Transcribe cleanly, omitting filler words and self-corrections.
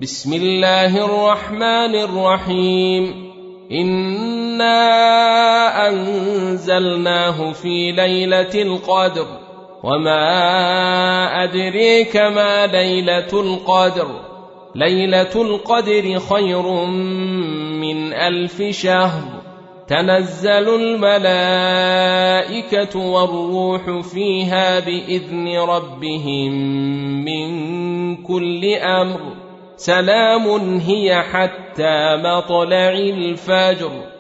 بسم الله الرحمن الرحيم. إنا أنزلناه في ليلة القدر وما أدريك ما ليلة القدر. ليلة القدر خير من 1000 شهر. تنزل الملائكة والروح فيها بإذن ربهم من كل أمر. سلام هي حتى مطلع الفجر.